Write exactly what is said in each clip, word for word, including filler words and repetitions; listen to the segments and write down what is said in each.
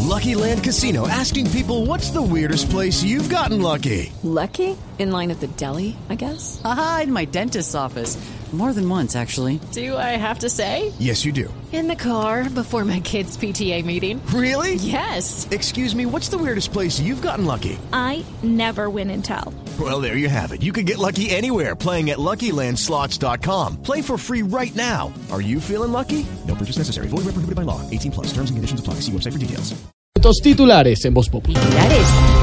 Lucky Land Casino, asking people, what's the weirdest place you've gotten lucky? Lucky? In line at the deli, I guess? Aha, in my dentist's office. More than once, actually. Do I have to say? Yes, you do. In the car before my kids' P T A meeting. Really? Yes. Excuse me, what's the weirdest place you've gotten lucky? I never win and tell. Well, there you have it. You can get lucky anywhere, playing at Lucky Land Slots dot com. Play for free right now. Are you feeling lucky? No purchase necessary. Void where prohibited by law. eighteen plus. Terms and conditions apply. See website for details. Estos titulares en Voz Populi. Titulares.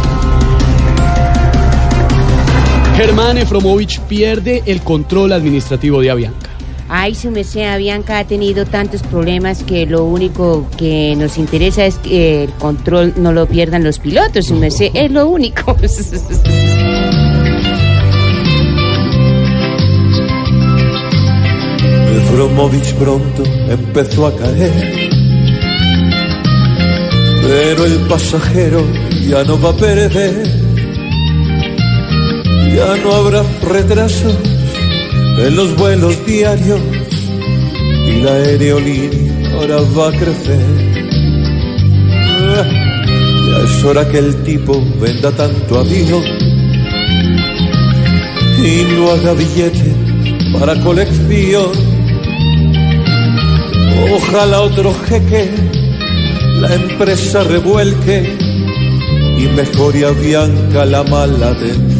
Germán Efromovich pierde el control administrativo de Avianca. Ay, su merced, Avianca ha tenido tantos problemas que lo único que nos interesa es que el control no lo pierdan los pilotos, su merced, es lo único. Efromovich pronto empezó a caer, pero el pasajero ya no va a perder. Ya no habrá retrasos en los vuelos diarios y la aerolínea ahora va a crecer. Ya es hora que el tipo venda tanto avión y no haga billete para colección. Ojalá otro jeque la empresa revuelque y mejore a Avianca la mala atención.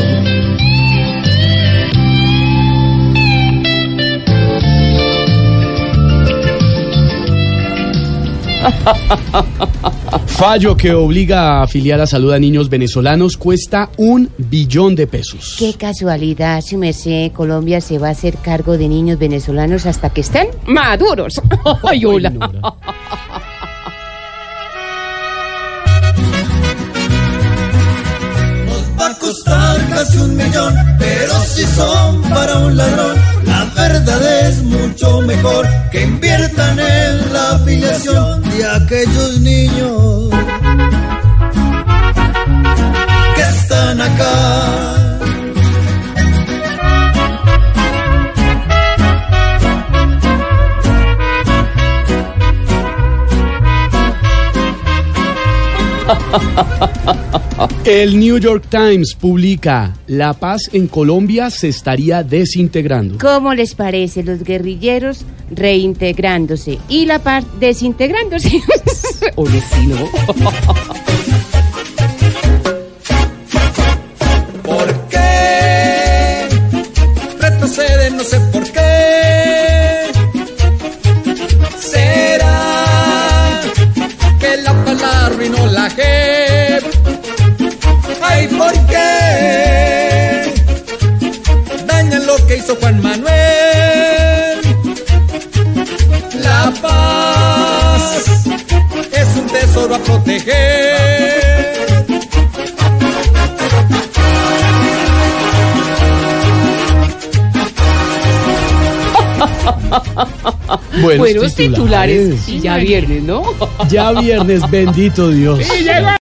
Fallo que obliga a afiliar a salud a niños venezolanos cuesta un billón de pesos. Qué casualidad, su merced, Colombia se va a hacer cargo de niños venezolanos hasta que estén maduros. Ay, hola. Va a costar casi un millón, pero si son para un ladrón, la verdad es mucho mejor que inviertan en la afiliación de aquellos niños que están acá. El New York Times publica: la paz en Colombia se estaría desintegrando. ¿Cómo les parece? Los guerrilleros reintegrándose y la paz desintegrándose. Oye, sí, ¿no? ¿Por qué retroceden? No sé por qué. ¿Será que la pala arruinó la J E P? Ay, ¿por qué dañan lo que hizo Juan Manuel? La paz es un tesoro a proteger. Buenos, Buenos titulares. titulares. Y ya viernes, ¿no? Ya viernes, bendito Dios.